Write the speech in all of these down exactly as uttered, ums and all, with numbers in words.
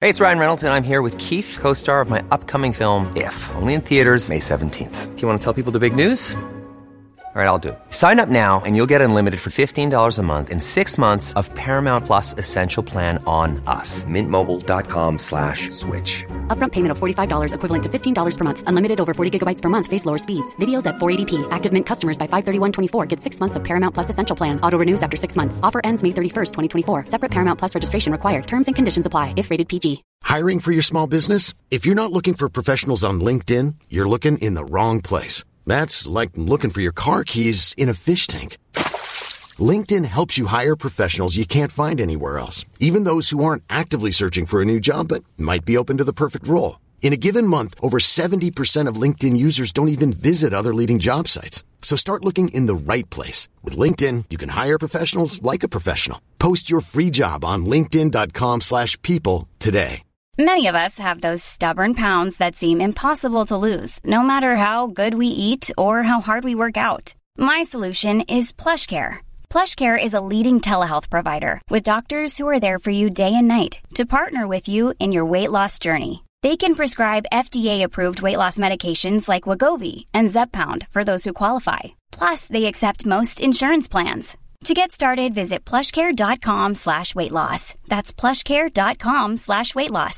Hey, it's Ryan Reynolds, and I'm here with Keith, co-star of my upcoming film, If, only in theaters May seventeenth. Do you want to tell people the big news? All right, I'll do it. Sign up now and you'll get unlimited for fifteen dollars a month and six months of Paramount Plus Essential Plan on us. Mint Mobile dot com slash switch. Upfront payment of forty-five dollars equivalent to fifteen dollars per month. Unlimited over forty gigabytes per month. Face lower speeds. Videos at four eighty p. Active Mint customers by five thirty-one twenty-four get six months of Paramount Plus Essential Plan. Auto renews after six months. Offer ends May thirty-first, twenty twenty-four. Separate Paramount Plus registration required. Terms and conditions apply if rated P G. Hiring for your small business? If you're not looking for professionals on LinkedIn, you're looking in the wrong place. That's like looking for your car keys in a fish tank. LinkedIn helps you hire professionals you can't find anywhere else, even those who aren't actively searching for a new job but might be open to the perfect role. In a given month, over seventy percent of LinkedIn users don't even visit other leading job sites. So start looking in the right place. With LinkedIn, you can hire professionals like a professional. Post your free job on linkedin dot com slash people today. Many of us have those stubborn pounds that seem impossible to lose, no matter how good we eat or how hard we work out. My solution is PlushCare. PlushCare is a leading telehealth provider with doctors who are there for you day and night to partner with you in your weight loss journey. They can prescribe F D A-approved weight loss medications like Wegovy and Zepbound for those who qualify. Plus, they accept most insurance plans. To get started, visit plushcare.com slash weight loss. That's plushcare.com slash weight loss.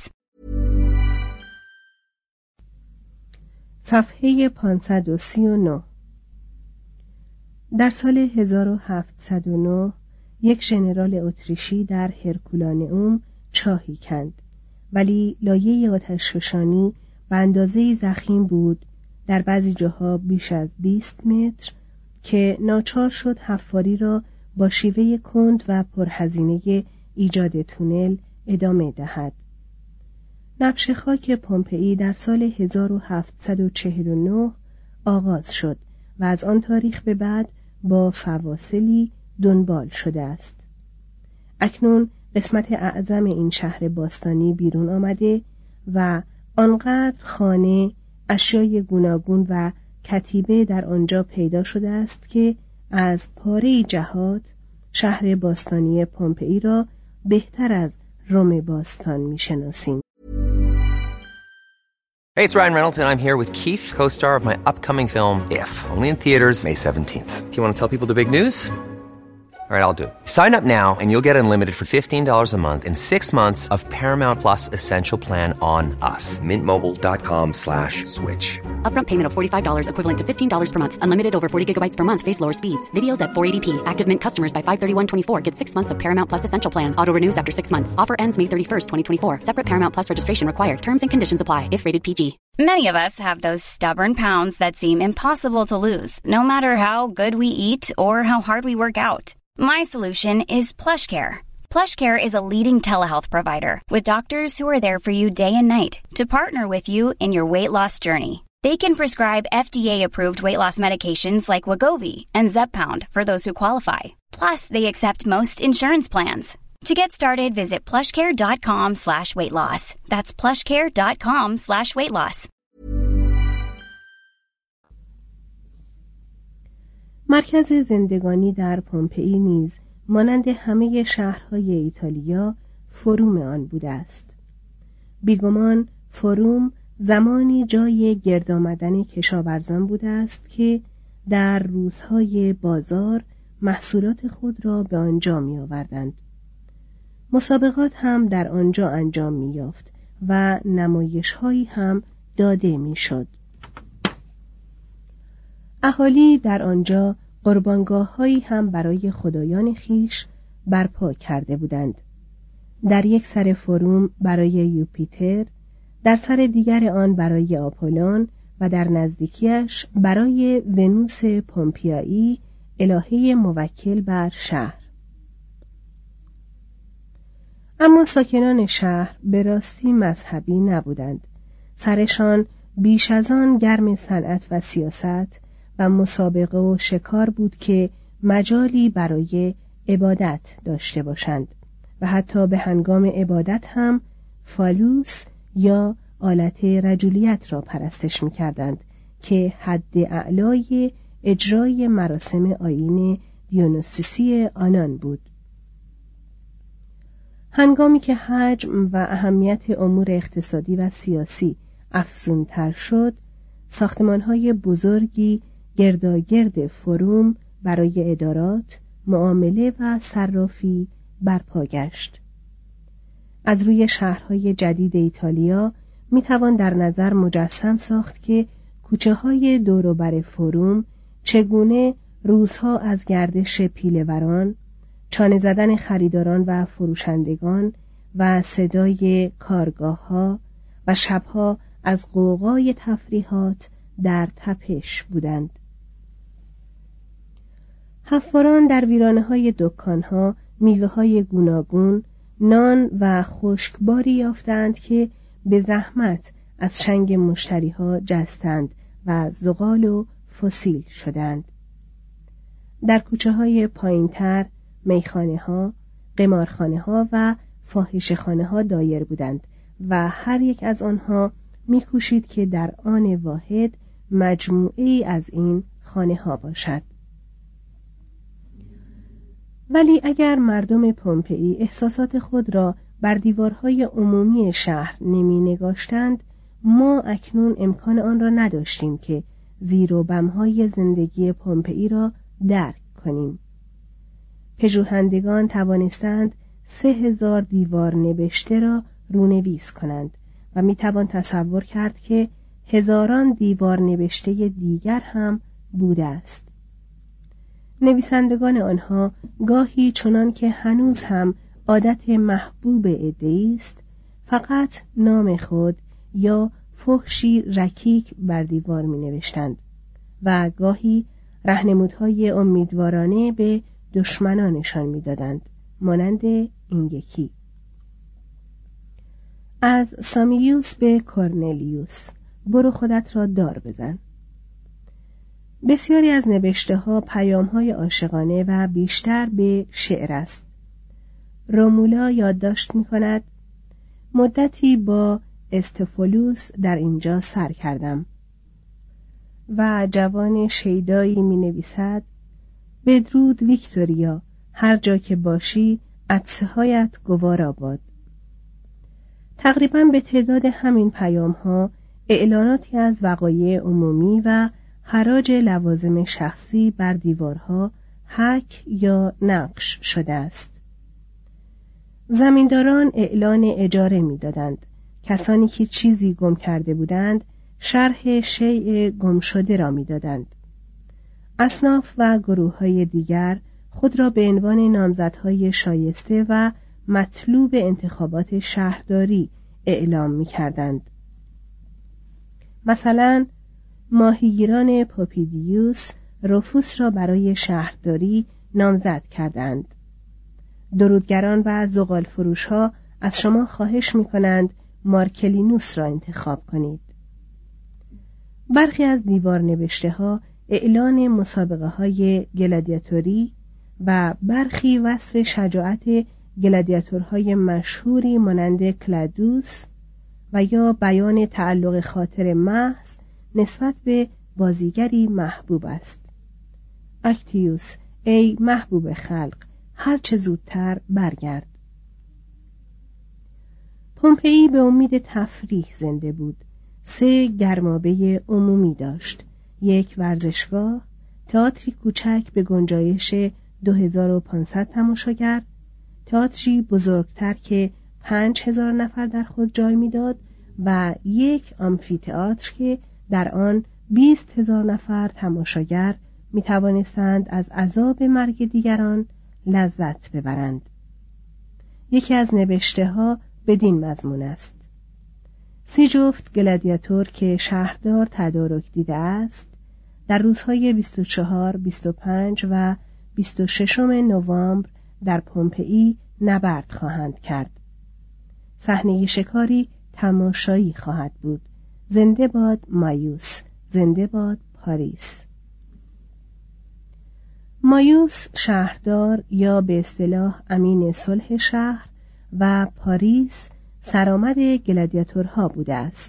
صفحه پانصد و سی و نه. در سال هزار و هفتصد و نه یک ژنرال اتریشی در هرکولانئوم چاهی کند، ولی لایه آتشفشانی به اندازه‌ای ضخیم بود، در بعضی جاها بیش از بیست متر، که ناچار شد حفاری را با شیوه کند و پرهزینه ایجاد تونل ادامه دهد. نبش خاک پومپئی در سال هزار و هفتصد و چهل و نه آغاز شد و از آن تاریخ به بعد با فواصلی دنبال شده است. اکنون قسمت اعظم این شهر باستانی بیرون آمده و آنقدر خانه، اشیای گوناگون و کتیبه در آنجا پیدا شده است که از پاره جهات شهر باستانی پومپئی را بهتر از روم باستان می‌شناسیم. Hey, it's Ryan Reynolds, and I'm here with Keith, co-star of my upcoming film, If, only in theaters May seventeenth. Do you want to tell people the big news? All right, I'll do it. Sign up now and you'll get unlimited for fifteen dollars a month and six months of Paramount Plus Essential Plan on us. Mint Mobile dot com slash switch. Upfront payment of forty-five dollars equivalent to fifteen dollars per month. Unlimited over forty gigabytes per month. Face lower speeds. Videos at four eighty p. Active Mint customers by five thirty-one twenty-four get six months of Paramount Plus Essential Plan. Auto renews after six months. Offer ends May thirty-first, twenty twenty-four. Separate Paramount Plus registration required. Terms and conditions apply if rated P G. Many of us have those stubborn pounds that seem impossible to lose, no matter how good we eat or how hard we work out. My solution is PlushCare. PlushCare is a leading telehealth provider with doctors who are there for you day and night to partner with you in your weight loss journey. They can prescribe F D A-approved weight loss medications like Wegovy and Zepbound for those who qualify. Plus, they accept most insurance plans. To get started, visit plushcare.com slash weight loss. That's plushcare.com slash weight loss. مرکز زندگانی در پومپئی نیز مانند همه شهرهای ایتالیا فروم آن بوده است. بیگمان فروم زمانی جای گرد آمدن کشاورزان بوده است که در روزهای بازار محصولات خود را به آنجا می آوردند. مسابقات هم در آنجا انجام می یافت و نمایش‌هایی هم داده می شد. اهالی در آنجا قربانگاه‌هایی هم برای خدایان خیش برپا کرده بودند. در یک سر فروم برای یوپیتر، در سر دیگر آن برای آپولون و در نزدیکیش برای ونوس پومپیایی، الهه موکل بر شهر. اما ساکنان شهر به راستی مذهبی نبودند. سرشان بیش از آن گرم صنعت و سیاست و مسابقه و شکار بود که مجالی برای عبادت داشته باشند و حتی به هنگام عبادت هم فالوس یا آلت رجولیت را پرستش می کردند که حد اعلای اجرای مراسم آیین دیونوسوسی آنان بود. هنگامی که حجم و اهمیت امور اقتصادی و سیاسی افزونتر شد، ساختمان‌های بزرگی گرداگرد فروم برای ادارات، معامله و صرافی برپا گشت. از روی شهرهای جدید ایتالیا می توان در نظر مجسم ساخت که کوچه‌های دور و بر فروم چگونه روزها از گردش پیله‌وران، چانه زدن خریداران و فروشندگان و صدای کارگاه‌ها و شبها از غوغای تفریحات در تپش بودند. حفاران در ویرانه‌های دکان‌ها میوه‌های گوناگون، نان و خشکباری یافتند که به زحمت از چنگ مشتری‌ها جستند و زغال و فسیل شدند. در کوچه‌های پایین‌تر میخانه‌ها، قمارخانه‌ها و فاحشه‌خانه‌ها دایر بودند و هر یک از آنها می‌کوشید که در آن واحد مجموعه‌ای از این خانه‌ها باشد. ولی اگر مردم پومپئی احساسات خود را بر دیوارهای عمومی شهر نمی نگاشتند، ما اکنون امکان آن را نداشتیم که زیر و بم‌های زندگی پومپئی را درک کنیم. پژوهندگان توانستند سه هزار دیوار نبشته را رونویس کنند و می توان تصور کرد که هزاران دیوار نبشته دیگر هم بوده است. نویسندگان آنها گاهی چنان که هنوز هم عادت محبوب عده‌ای است، فقط نام خود یا فحشی رکیک بر دیوار می نوشتند و گاهی راهنمودهای امیدوارانه به دشمنانشان می دادند، مانند این یکی: از سامیوس به کورنلیوس، برو خودت را دار بزن. بسیاری از نوشته ها پیام های عاشقانه و بیشتر به شعر است. رومولا یادداشت می کند: مدتی با استفولوس در اینجا سر کردم. و جوان شیدایی می نویسد: بدرود ویکتوریا، هر جا که باشی عطسه هایت گوارا باد. تقریباً به تعداد همین پیام ها اعلاناتی از وقایع عمومی و حراج لوازم شخصی بر دیوارها حک یا نقش شده است. زمینداران اعلان اجاره می دادند. کسانی که چیزی گم کرده بودند شرح شیء گم شده را می دادند. اصناف و گروه های دیگر خود را به عنوان نامزدهای شایسته و مطلوب انتخابات شهرداری اعلام می کردند. مثلا ماهیگیران پوپیدیوس رفوس را برای شهرداری نامزد کردند. درودگران و زغال فروش ها از شما خواهش می کنند مارکلینوس را انتخاب کنید. برخی از دیوار نوشته ها اعلان مسابقه های گلادیاتوری و برخی وصف شجاعت گلادیاتورهای مشهوری مانند کلادوس و یا بیان تعلق خاطر محض نسبت به بازیگری محبوب است. اکتیوس، ای محبوب خلق، هر چه زودتر برگرد. پومپئی به امید تفریح زنده بود. سه گرمابه عمومی داشت: یک ورزشگاه، تئاتری کوچک به گنجایش دو هزار و پانصد تماشاگر، تئاتری بزرگتر که پنج هزار نفر در خود جای میداد و یک آمفی‌تئاتر که در آن بیست هزار نفر تماشاگر می توانستند از عذاب مرگ دیگران لذت ببرند. یکی از نوشته ها بدین مضمون است: سی جفت گلادیاتور که شهردار تدارک دیده است در روزهای بیست و چهار، بیست و پنج و بیست و ششم نوامبر در پومپئی نبرد خواهند کرد. صحنه شکاری تماشایی خواهد بود. زنده باد مایوس، زنده باد پاریس. مایوس شهردار یا به اصطلاح امین صلح شهر و پاریس سرآمد گلادیاتورها بوده است.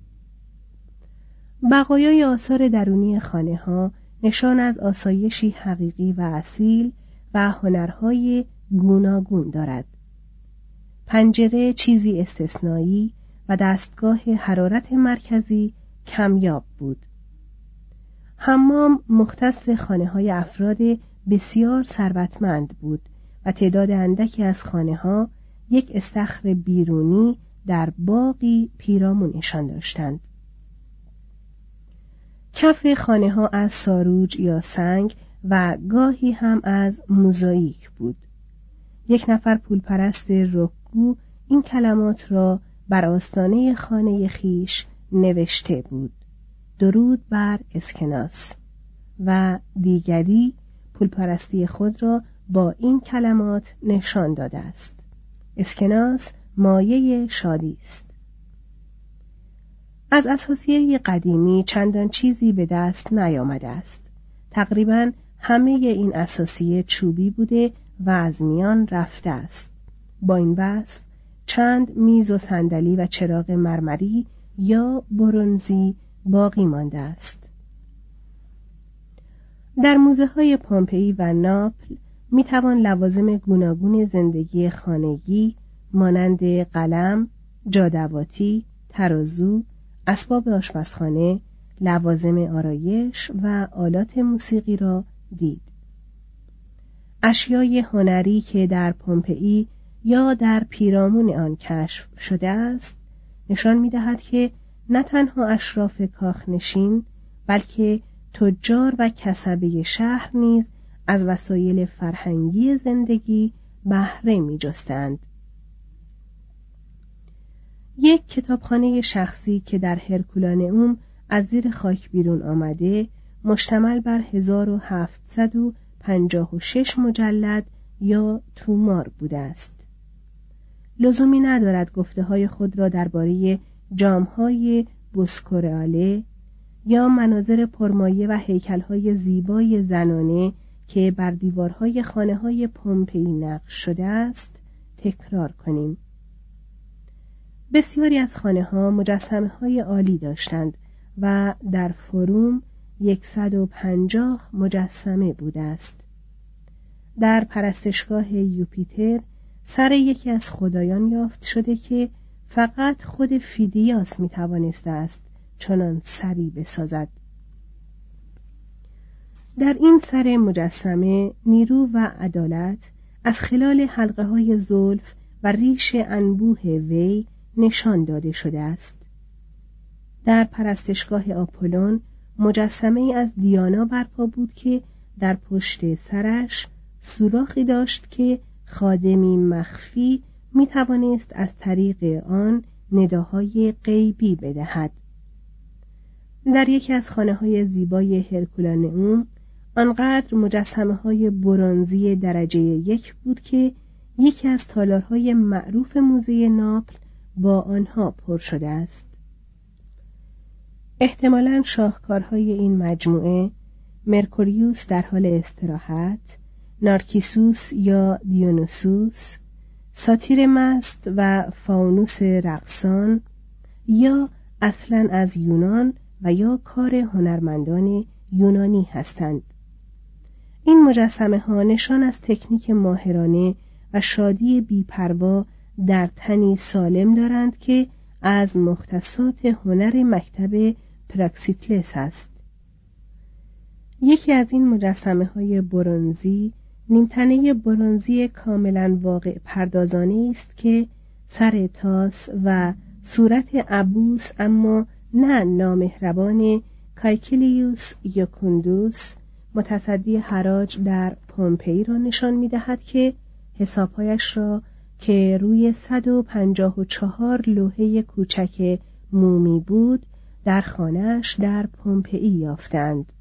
بقایای آثار درونی خانه ها نشان از آسایشی حقیقی و اصیل و هنرهای گوناگون دارد. پنجره چیزی استثنایی و دستگاه حرارت مرکزی کمیاب بود. حمام مختص خانه‌های افراد بسیار ثروتمند بود و تعداد اندکی از خانه‌ها یک استخر بیرونی در باغی پیرامونشان داشتند. کف خانه‌ها از ساروج یا سنگ و گاهی هم از موزاییک بود. یک نفر پولپرست رکگو این کلمات را بر آستانه خانه خیش نوشته بود: درود بر اسکناس، و دیگری پولپرستی خود را با این کلمات نشان داده است: اسکناس مایه شادی است. از اثاثیه قدیمی چندان چیزی به دست نیامده است. تقریباً همه این اثاثیه چوبی بوده و از میان رفته است. با این وصف چند میز و صندلی و چراغ مرمری یا برنزی باقی مانده است. در موزه های پومپئی و ناپل می توان لوازم گوناگون زندگی خانگی مانند قلم، جادواتی، ترازو، اسباب آشپزخانه، لوازم آرایش و آلات موسیقی را دید. اشیای هنری که در پومپئی یا در پیرامون آن کشف شده است نشان می دهد که نه تنها اشراف کاخنشین بلکه تجار و کسبه شهر نیز از وسایل فرهنگی زندگی بهره می جستند. یک کتابخانه شخصی که در هرکولانئوم از زیر خاک بیرون آمده مشتمل بر هزار و هفتصد و پنجاه و شش مجلد یا تومار بوده است. لزومی ندارد گفته های خود را درباره جامهای بوسکوراله یا مناظر پرمایه و هیکل‌های زیبای زنانه که بر دیوارهای خانه‌های پومپئی نقش شده است تکرار کنیم. بسیاری از خانه‌ها مجسمه‌های عالی داشتند و در فروم صد و پنجاه مجسمه بوده است. در پرستشگاه یوپیتر سر یکی از خدایان یافت شده که فقط خود فیدیاس می‌توانسته است چنان سری بسازد. در این سر مجسمه نیرو و عدالت از خلال حلقه های زلف و ریش انبوه وی نشان داده شده است. در پرستشگاه آپولون مجسمه ای از دیانا برپا بود که در پشت سرش سوراخی داشت که خادمی مخفی می توانست از طریق آن نداهای غیبی بدهد. در یکی از خانه های زیبای هرکولانئوم آنقدر مجسمه های برنزی درجه یک بود که یکی از تالارهای معروف موزه ناپل با آنها پر شده است. احتمالاً شاهکارهای این مجموعه مرکوریوس در حال استراحت، نارکیسوس یا دیونوسوس، ساتیر مست و فاونوس رقصان یا اصلاً از یونان و یا کار هنرمندان یونانی هستند. این مجسمه ها نشان از تکنیک ماهرانه و شادی بی‌پروا در تنی سالم دارند که از مختصات هنر مکتب پراکسیتلس است. یکی از این مجسمه های برنزی نیمتنه برنزی کاملا واقع پردازانه است که سر تاس و صورت عبوس اما نه نامهربان کایکلیوس یوکوندوس متصدی حراج در پومپئی را نشان می دهد که حسابهایش را که روی صد و پنجاه و چهار لوحه کوچک مومی بود در خانه‌اش در پومپئی یافتند.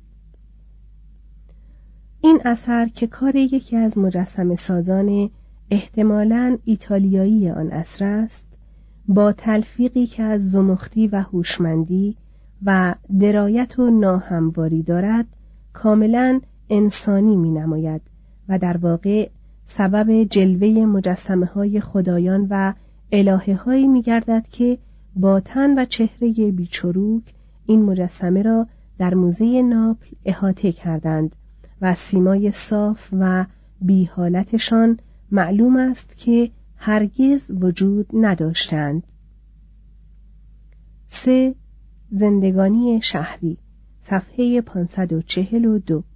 این اثر که کار یکی از مجسمه سازان احتمالاً ایتالیایی آن عصر است، با تلفیقی که از زمختی و هوشمندی و درایت و ناهمواری دارد کاملاً انسانی می نماید و در واقع سبب جلوه مجسمه های خدایان و الهه هایی می گردد که با تن و چهره بیچروک این مجسمه را در موزه ناپل احاطه کردند و سیمای صاف و بی حالتشان معلوم است که هرگز وجود نداشتند. سه. زندگانی شهری، صفحه پانصد و چهل و دو.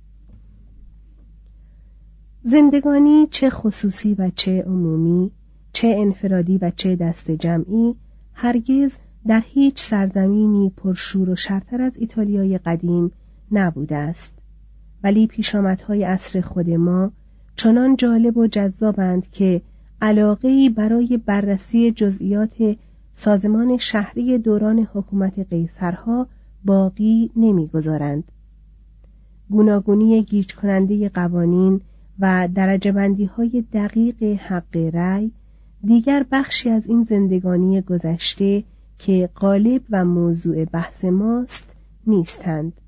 زندگانی چه خصوصی و چه عمومی، چه انفرادی و چه دست جمعی، هرگز در هیچ سرزمینی پرشور و شرتر از ایتالیای قدیم نبوده است. ولی پیشامدهای عصر خود ما چنان جالب و جذابند که علاقه‌ای برای بررسی جزئیات سازمان شهری دوران حکومت قیصرها باقی نمی‌گذارند. گوناگونی گیج کننده قوانین و درجه بندی های دقیق حق رأی دیگر بخشی از این زندگانی گذشته که غالب و موضوع بحث ماست نیستند.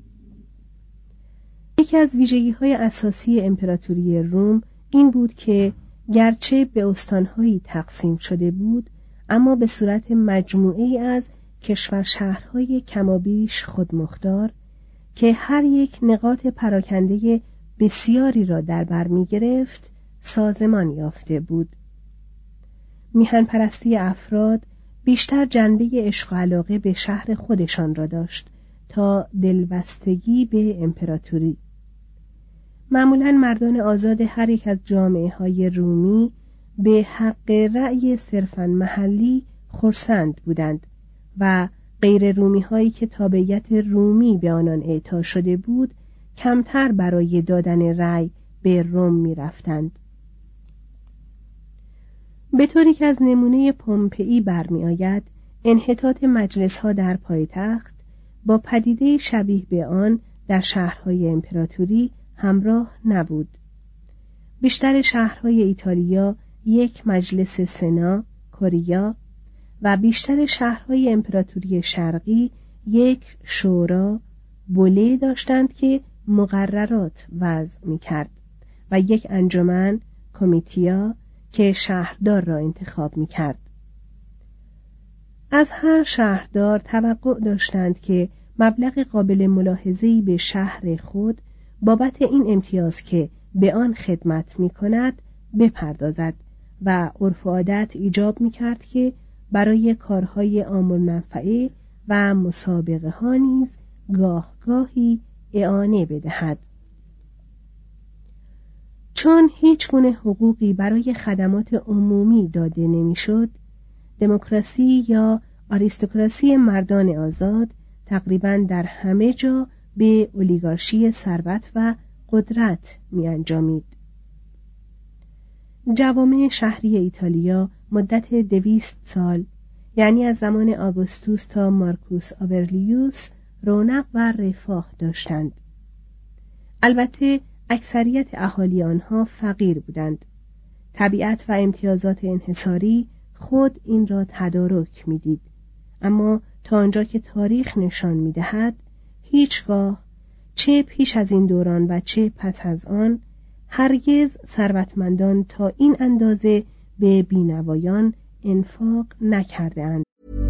یکی از ویژگی های اساسی امپراتوری روم این بود که گرچه به استانهایی تقسیم شده بود، اما به صورت مجموعه‌ای از کشور شهرهای کمابیش خودمختار که هر یک نقاط پراکنده بسیاری را در بر می گرفت سازمان یافته بود. میهن پرستی افراد بیشتر جنبه عشق و علاقه به شهر خودشان را داشت تا دلبستگی به امپراتوری. معمولاً مردان آزاد هر یک از جامعه های رومی به حق رأی صرفاً محلی خرسند بودند و غیر رومی هایی که تابعیت رومی به آنان اعطا شده بود کمتر برای دادن رأی به روم می رفتند. به طوری که از نمونه پومپئی برمی آید، انحطاط مجلس ها در پایتخت با پدیده شبیه به آن در شهرهای امپراتوری همراه نبود. بیشتر شهرهای ایتالیا یک مجلس سنا، کوریا، و بیشتر شهرهای امپراتوری شرقی یک شورا، بوله داشتند که مقررات وضع می کرد و یک انجمن، کمیتیا، که شهردار را انتخاب می کرد. از هر شهردار توقع داشتند که مبلغ قابل ملاحظه‌ای به شهر خود بابت این امتیاز که به آن خدمت می کند بپردازد و عرف و عادت ایجاب می کرد که برای کارهای عام النفعه و مسابقه ها نیز گاه گاهی اعانه بدهد. چون هیچ گونه حقوقی برای خدمات عمومی داده نمیشد، دموکراسی یا آریستوکراسی مردان آزاد تقریباً در همه جا به اولیگارشی ثروت و قدرت می انجامید. جوامع شهری ایتالیا مدت دویست سال، یعنی از زمان آگوستوس تا مارکوس آورلیوس، رونق و رفاه داشتند. البته اکثریت اهالی آنها فقیر بودند. طبیعت و امتیازات انحصاری خود این را تدارک می‌دید، اما تا آنجا که تاریخ نشان می‌دهد هیچگاه چه پیش از این دوران و چه پس از آن هرگز ثروتمندان تا این اندازه به بینوایان انفاق نکرده‌اند.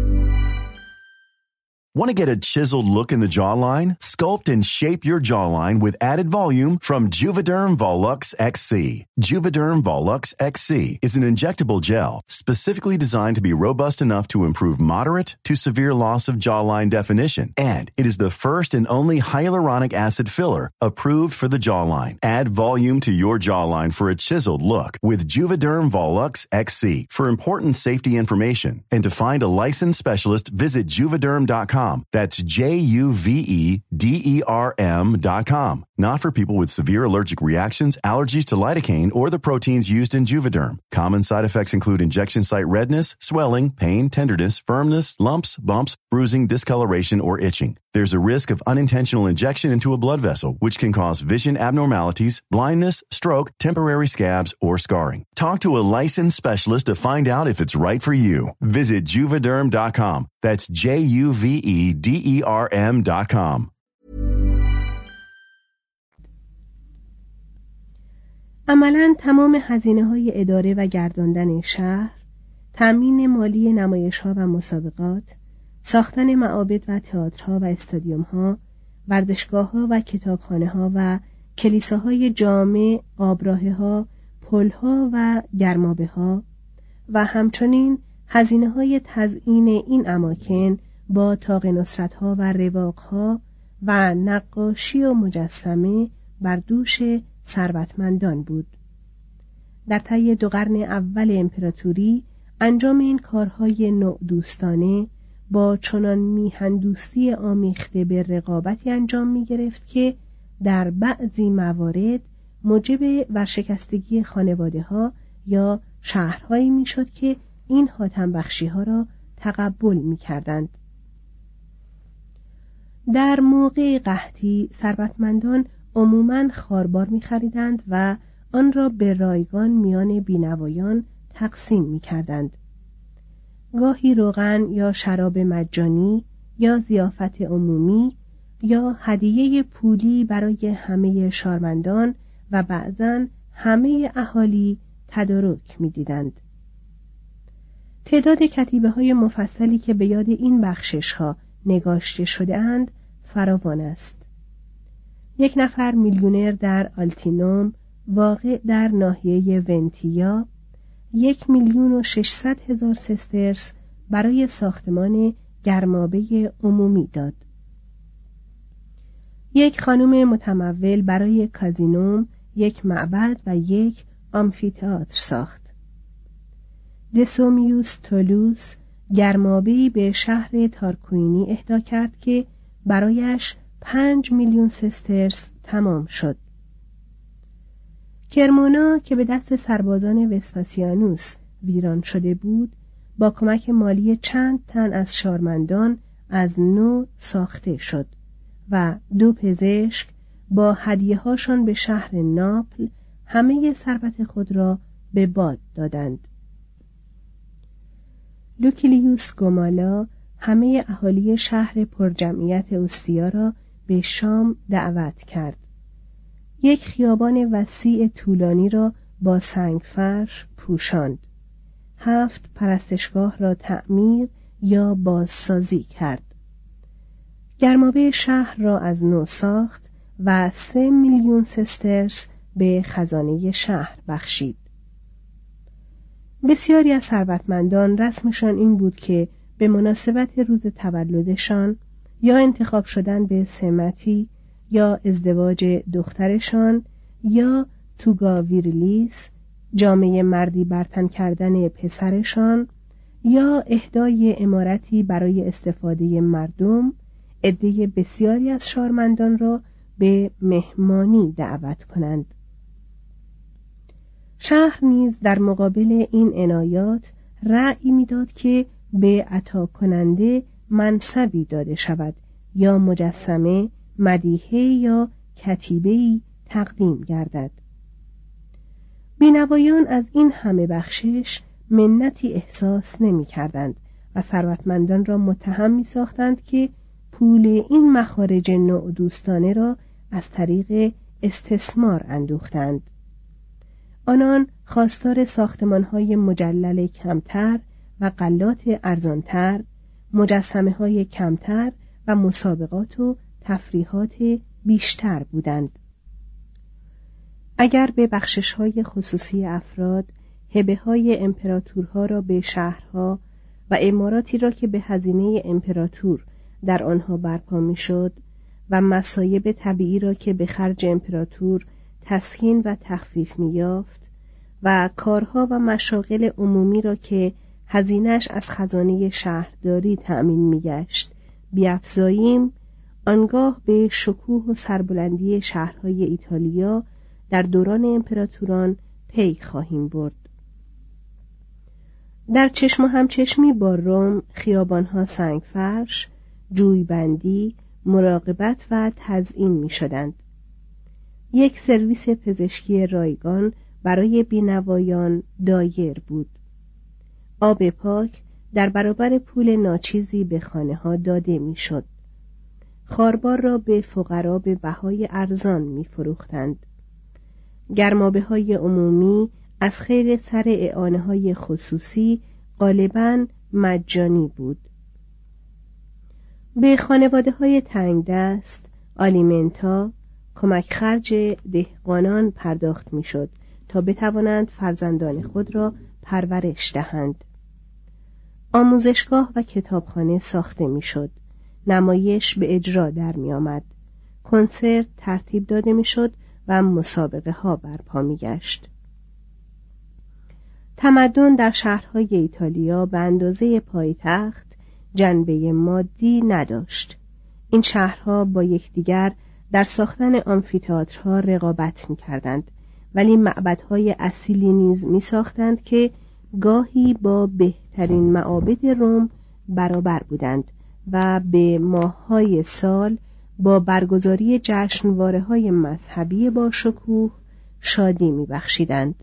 Want to get a chiseled look in the jawline? Sculpt and shape your jawline with added volume from Juvederm Volux X C. Juvederm Volux X C is an injectable gel specifically designed to be robust enough to improve moderate to severe loss of jawline definition. And it is the first and only hyaluronic acid filler approved for the jawline. Add volume to your jawline for a chiseled look with Juvederm Volux X C. For important safety information and to find a licensed specialist, visit juvederm dot com. That's J U V E D E R M dot com. Not for people with severe allergic reactions, allergies to lidocaine, or the proteins used in Juvederm. Common side effects include injection site redness, swelling, pain, tenderness, firmness, lumps, bumps, bruising, discoloration, or itching. There's a risk of unintentional injection into a blood vessel, which can cause vision abnormalities, blindness, stroke, temporary scabs, or scarring. Talk to a licensed specialist to find out if it's right for you. Visit juvederm dot com. That's J U V E D E R M dot com. عملاً تمام هزینه‌های اداره و گرداندن شهر، تأمین مالی نمایش‌ها و مسابقات، ساختن معابد و تئاترها و استادیوم‌ها، ورزشگاه‌ها و کتابخانه‌ها و کلیساهای جامع، آبراهه‌ها، پل‌ها و گرمابه‌ها، و همچنین هزینه‌های تزیین این اماکن با طاق نصرت‌ها و رواق‌ها و نقاشی و مجسمه بر دوش ثروتمندان بود. در طی دو قرن اول امپراتوری انجام این کارهای نوع‌دوستانه با چنان میهن‌دوستی آمیخته به رقابتی انجام می‌گرفت که در بعضی موارد موجب ورشکستگی خانواده‌ها یا شهرهایی می‌شد که این حاتم بخشی‌ها را تقبل می‌کردند. در موقع قحطی ثروتمندان عموماً خاربار می‌خریدند و آن را به رایگان میان بینوایان تقسیم می‌کردند. گاهی روغن یا شراب مجانی یا ضیافت عمومی یا هدیه پولی برای همه شارمندان و بعضاً همه اهالی تدارک می‌دیدند. تعداد کتیبه‌های مفصلی که به یاد این بخشش‌ها نگاشته شده‌اند فراوان است. یک نفر میلیونر در آلتینوم واقع در ناحیه ونتیا یک میلیون و ششصد هزار سسترس برای ساختمان گرمابه عمومی داد. یک خانم متمول برای کازینوم یک معبد و یک آمفی‌تئاتر ساخت. دسومیوس تولوس گرمابه‌ای به شهر تارکوینی اهدا کرد که برایش پنج میلیون سسترس تمام شد. کرمونا که به دست سربازان وسپاسیانوس ویران شده بود، با کمک مالی چند تن از شارمندان از نو ساخته شد و دو پزشک با هدیه‌هاشان به شهر ناپل همه ثروت خود را به باد دادند. لوکیلیوس گومالا همه اهالی شهر پرجمعیت اوستیا را به شام دعوت کرد. یک خیابان وسیع طولانی را با سنگ فرش پوشاند. هفت پرستشگاه را تعمیر یا بازسازی کرد. گرمابه شهر را از نو ساخت و سه میلیون سسترس به خزانه شهر بخشید. بسیاری از ثروتمندان رسمشان این بود که به مناسبت روز تولدشان یا انتخاب شدن به سمتی یا ازدواج دخترشان یا توگا ویرلیس جامعه مردی برتن کردن پسرشان یا اهدای عمارتی برای استفاده مردم عده بسیاری از شارمندان را به مهمانی دعوت کنند. شهر نیز در مقابل این عنایات رأی می‌داد که به عطا کننده منصبی داده شود یا مجسمه، مدیحه یا کتیبه‌ای تقدیم گردد. بینوایان از این همه بخشش منتی احساس نمی‌کردند و ثروتمندان را متهم می‌ساختند که پول این مخارج نوع‌دوستانه را از طریق استثمار اندوختند. آنان خواستار ساختمان‌های مجلل کمتر و غلات ارزانتر، مجسمه‌های کمتر و مسابقات و تفریحات بیشتر بودند. اگر به بخشش‌های خصوصی افراد هبه‌های امپراتورها را به شهرها و عماراتی را که به هزینه امپراتور در آنها برپا می‌شد و مصایب طبیعی را که به خرج امپراتور تسکین و تخفیف می‌یافت و کارها و مشاغل عمومی را که هزینه‌اش از خزانه شهرداری تأمین می‌گشت بیفزاییم، آنگاه به شکوه و سربلندی شهرهای ایتالیا در دوران امپراتوران پی خواهیم برد. در چشم و همچشمی با روم خیابانها سنگ فرش، جویبندی، مراقبت و تزیین می شدند. یک سرویس پزشکی رایگان برای بینوایان دایر بود. آب پاک در برابر پول ناچیزی به خانه ها داده می شد. خاربار را به فقرا به بهای ارزان می فروختند. گرمابه های عمومی از خیر سر اعانه های خصوصی غالباً مجانی بود. به خانواده های تنگ دست، آلیمنتا، کمک خرج دهقانان پرداخت می شد تا بتوانند فرزندان خود را پرورش دهند. آموزشگاه و کتابخانه ساخته میشد. نمایش به اجرا در می آمد. کنسرت ترتیب داده میشد و مسابقه ها برپا می گشت. تمدن در شهرهای ایتالیا به اندازه پایتخت جنبه مادی نداشت. این شهرها با یکدیگر در ساختن آمفی‌تئاترها رقابت می‌کردند، ولی معبدهای اصیلی نیز می‌ساختند که گاهی با بهترین معابد روم برابر بودند و به ماه‌های سال با برگزاری جشنواره‌های مذهبی با شکوه شادی می‌بخشیدند.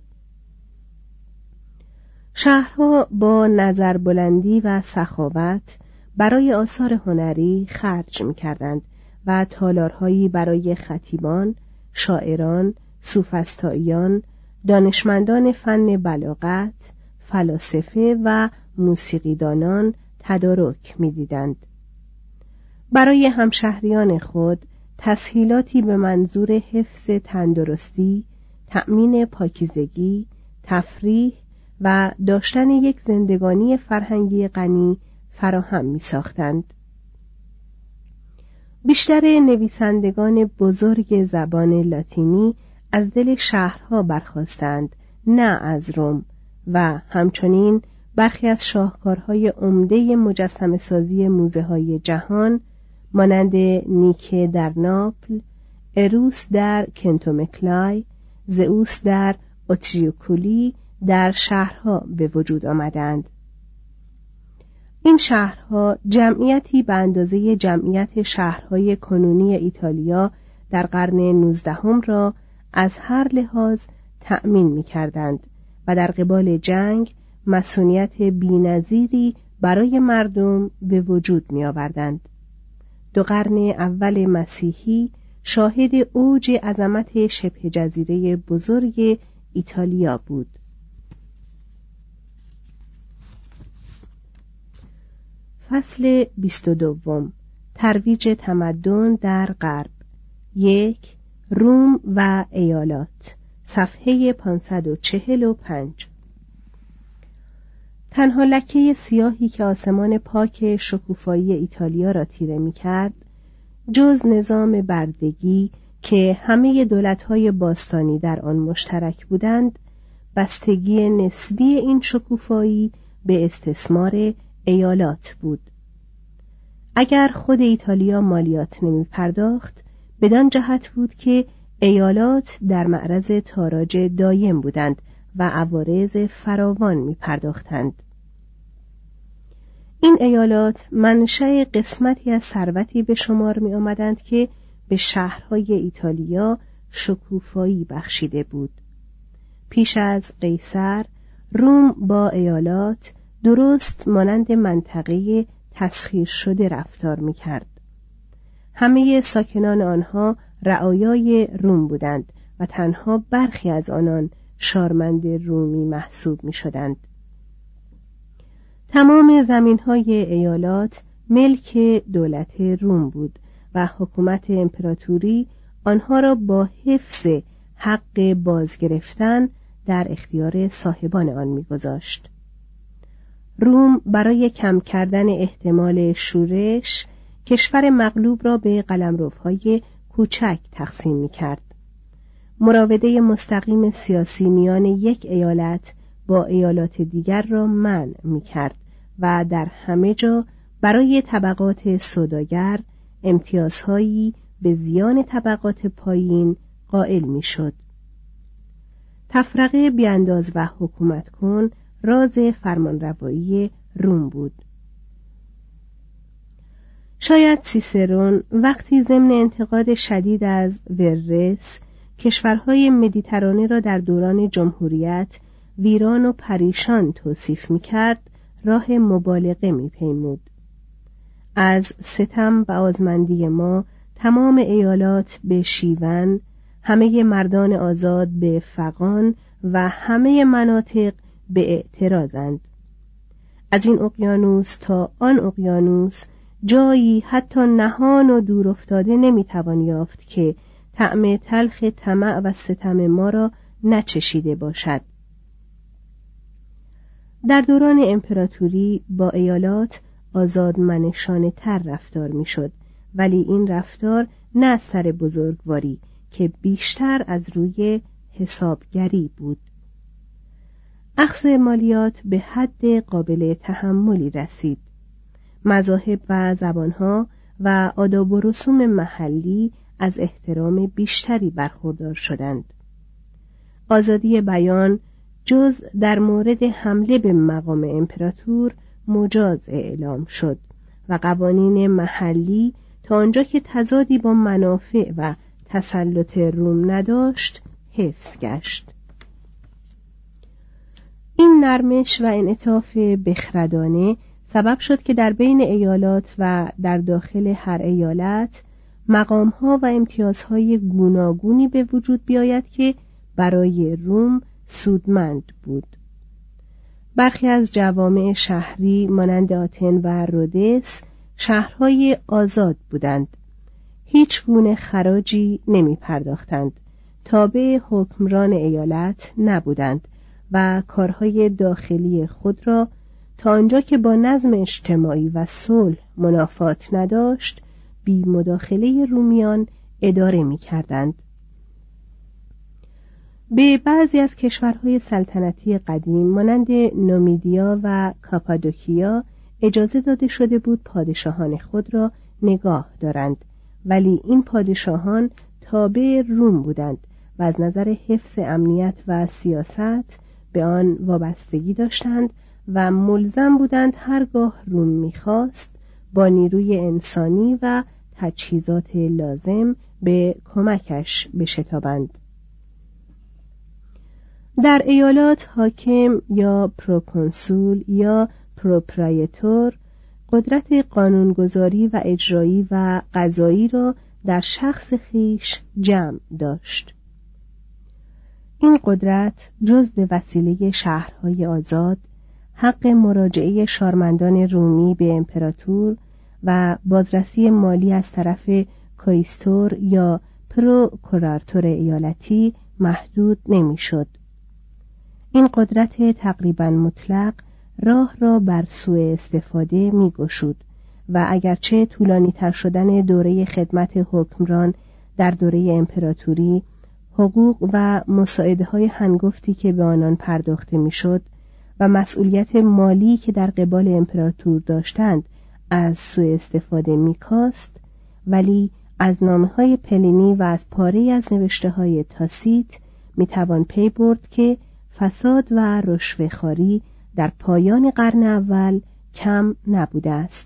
شهرها با نظربلندی و سخاوت برای آثار هنری خرج می‌کردند و تالارهایی برای خطیبان، شاعران، سوفسطائیان، دانشمندان فن بلاغت، فلاسفه و موسیقیدانان تدارک می‌دیدند. برای همشهریان خود تسهیلاتی به منظور حفظ تندرستی، تأمین پاکیزگی، تفریح و داشتن یک زندگانی فرهنگی غنی فراهم می‌ساختند. بیشتر نویسندگان بزرگ زبان لاتینی از دل شهرها برخاستند، نه از روم، و همچنین برخی از شاهکارهای عمده مجسمه سازی موزه های جهان مانند نیکه در ناپل، اروس در کنتومکلای، زئوس در اوتریوکولی در شهرها به وجود آمدند. این شهرها جمعیتی به اندازه جمعیت شهرهای کنونی ایتالیا در قرن نوزدهم را از هر لحاظ تأمین می‌کردند و در قبال جنگ مسئولیت بی‌نظیری برای مردم به وجود می‌آوردند. دو قرن اول مسیحی شاهد اوج عظمت شبه جزیره بزرگ ایتالیا بود. فصل بیست و دوم. ترویج تمدن در غرب. یک. روم و ایالات. صفحه پانصد و چهل و پنج. تنها لکه سیاهی که آسمان پاک شکوفایی ایتالیا را تیره می کرد، جز نظام بردگی که همه دولت‌های باستانی در آن مشترک بودند، بستگی نسبی این شکوفایی به استثمار ایالات بود. اگر خود ایتالیا مالیات نمی پرداخت، بدان جهت بود که ایالات در معرض تاراج دایم بودند و عوارض فراوان می پرداختند. این ایالات منشأ قسمتی از ثروتی به شمار می آمدند که به شهرهای ایتالیا شکوفایی بخشیده بود. پیش از قیصر، روم با ایالات درست مانند منطقه تسخیر شده رفتار می کرد. همه ساکنان آنها رعایای روم بودند و تنها برخی از آنان شارمند رومی محسوب می شدند. تمام زمین‌های ایالات ملک دولت روم بود و حکومت امپراتوری آنها را با حفظ حق بازگرفتن در اختیار صاحبان آن می‌گذاشت. روم برای کم کردن احتمال شورش کشور مغلوب را به قلمروهای کوچک تقسیم می‌کرد. مراوده مستقیم سیاسی میان یک ایالت با ایالات دیگر را منع می‌کرد و در همه جا برای طبقات سوداگر امتیازهایی به زیان طبقات پایین قائل می‌شد. تفرقه بیانداز و حکومت کن راز فرمانروایی روم بود. شاید سیسرون وقتی ضمن انتقاد شدید از وررس کشورهای مدیترانه را در دوران جمهوریت ویران و پریشان توصیف می‌کرد، راه مبالغه می‌پیمود. از ستم و آزمندی ما تمام ایالات به شیون، همه مردان آزاد به فغان و همه مناطق به اعتراضند. از این اقیانوس تا آن اقیانوس جایی حتی نهان و دور افتاده نمیتوان یافت که طعم تلخ طمع و ستم ما را نچشیده باشد. در دوران امپراتوری با ایالات آزادمنشانه تر رفتار میشد، ولی این رفتار نه از سر بزرگواری که بیشتر از روی حسابگری بود. اخذ مالیات به حد قابل تحملی رسید. مذاهب و زبانها و آداب و رسوم محلی از احترام بیشتری برخوردار شدند. آزادی بیان جز در مورد حمله به مقام امپراتور مجاز اعلام شد و قوانین محلی تا آنجا که تضادی با منافع و تسلط روم نداشت حفظ گشت. این نرمش و انعطاف بخردانه سبب شد که در بین ایالات و در داخل هر ایالت مقام‌ها و امتیازهای گوناگونی به وجود بیاید که برای روم سودمند بود. برخی از جوامع شهری مانند آتن و رودس شهرهای آزاد بودند. هیچ گونه خراجی نمی پرداختند، تابع حکمران ایالت نبودند و کارهای داخلی خود را تا آنجا که با نظم اجتماعی و صلح منافات نداشت بی مداخله رومیان اداره می کردند. به بعضی از کشورهای سلطنتی قدیم مانند نومیدیا و کاپادوکیا اجازه داده شده بود پادشاهان خود را نگاه دارند، ولی این پادشاهان تابع روم بودند و از نظر حفظ امنیت و سیاست به آن وابستگی داشتند و ملزم بودند هرگاه روم می‌خواست با نیروی انسانی و تجهیزات لازم به کمکش بشتابند. در ایالات حاکم یا پروکنسول یا پروپرایتور قدرت قانونگذاری و اجرایی و قضایی را در شخص خیش جمع داشت. این قدرت جز به وسیله شهرهای آزاد، حق مراجعه شارمندان رومی به امپراتور و بازرسی مالی از طرف کایستور یا پروکوراتور ایالتی محدود نمیشد. این قدرت تقریباً مطلق راه را بر سوء استفاده می گشود و اگرچه طولانی تر شدن دوره خدمت حکمران در دوره امپراتوری، حقوق و مساعده های هنگفتی که به آنان پرداخته می شد و مسئولیت مالی که در قبال امپراتور داشتند از سوء استفاده می کاست، ولی از نامه های پلینی و از پاره از نوشته های تاسیت می توان پی برد که فساد و رشوه‌خواری در پایان قرن اول کم نبوده است.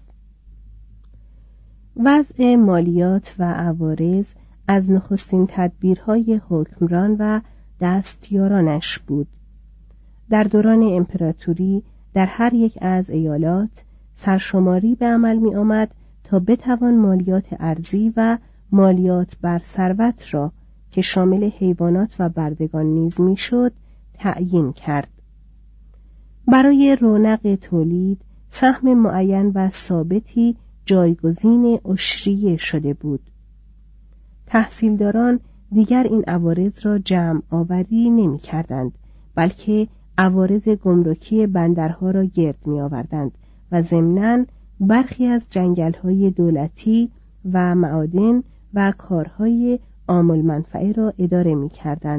وضع مالیات و عوارض از نخستین تدبیرهای حکمران و دستیارانش بود. در دوران امپراتوری در هر یک از ایالات سرشماری به عمل می آمد تا بتوان مالیات ارضی و مالیات بر ثروت را که شامل حیوانات و بردگان نیز می شد تعیین کرد. برای رونق تولید سهم معین و ثابتی جایگزین عشریه شده بود. تحصیلداران دیگر این عوارض را جمع آوری نمی کردند، بلکه عوارض گمرکی بندرها را گرد می آوردند و ضمناً برخی از جنگل‌های دولتی و معادن و کارهای عام المنفعه را اداره می کردند.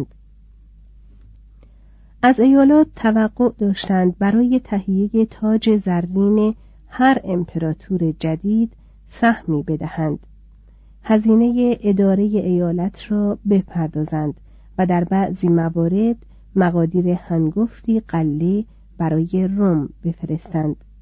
از ایالات توقع داشتند برای تهیه تاج زرین هر امپراتور جدید سهمی بدهند، هزینه اداره ایالت را بپردازند و در بعضی موارد مقادیر هنگفتی غله برای روم بفرستند.